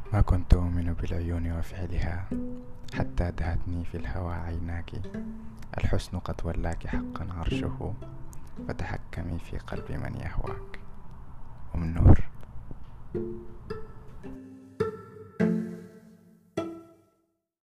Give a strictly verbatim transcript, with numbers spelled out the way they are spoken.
ما كنت أؤمن بالعيون وفعلها حتى دهتني في الهوى عيناك. الحسن قد ولاك حقا عرشه، فتحكمي في قلب من يهواك. أم نور.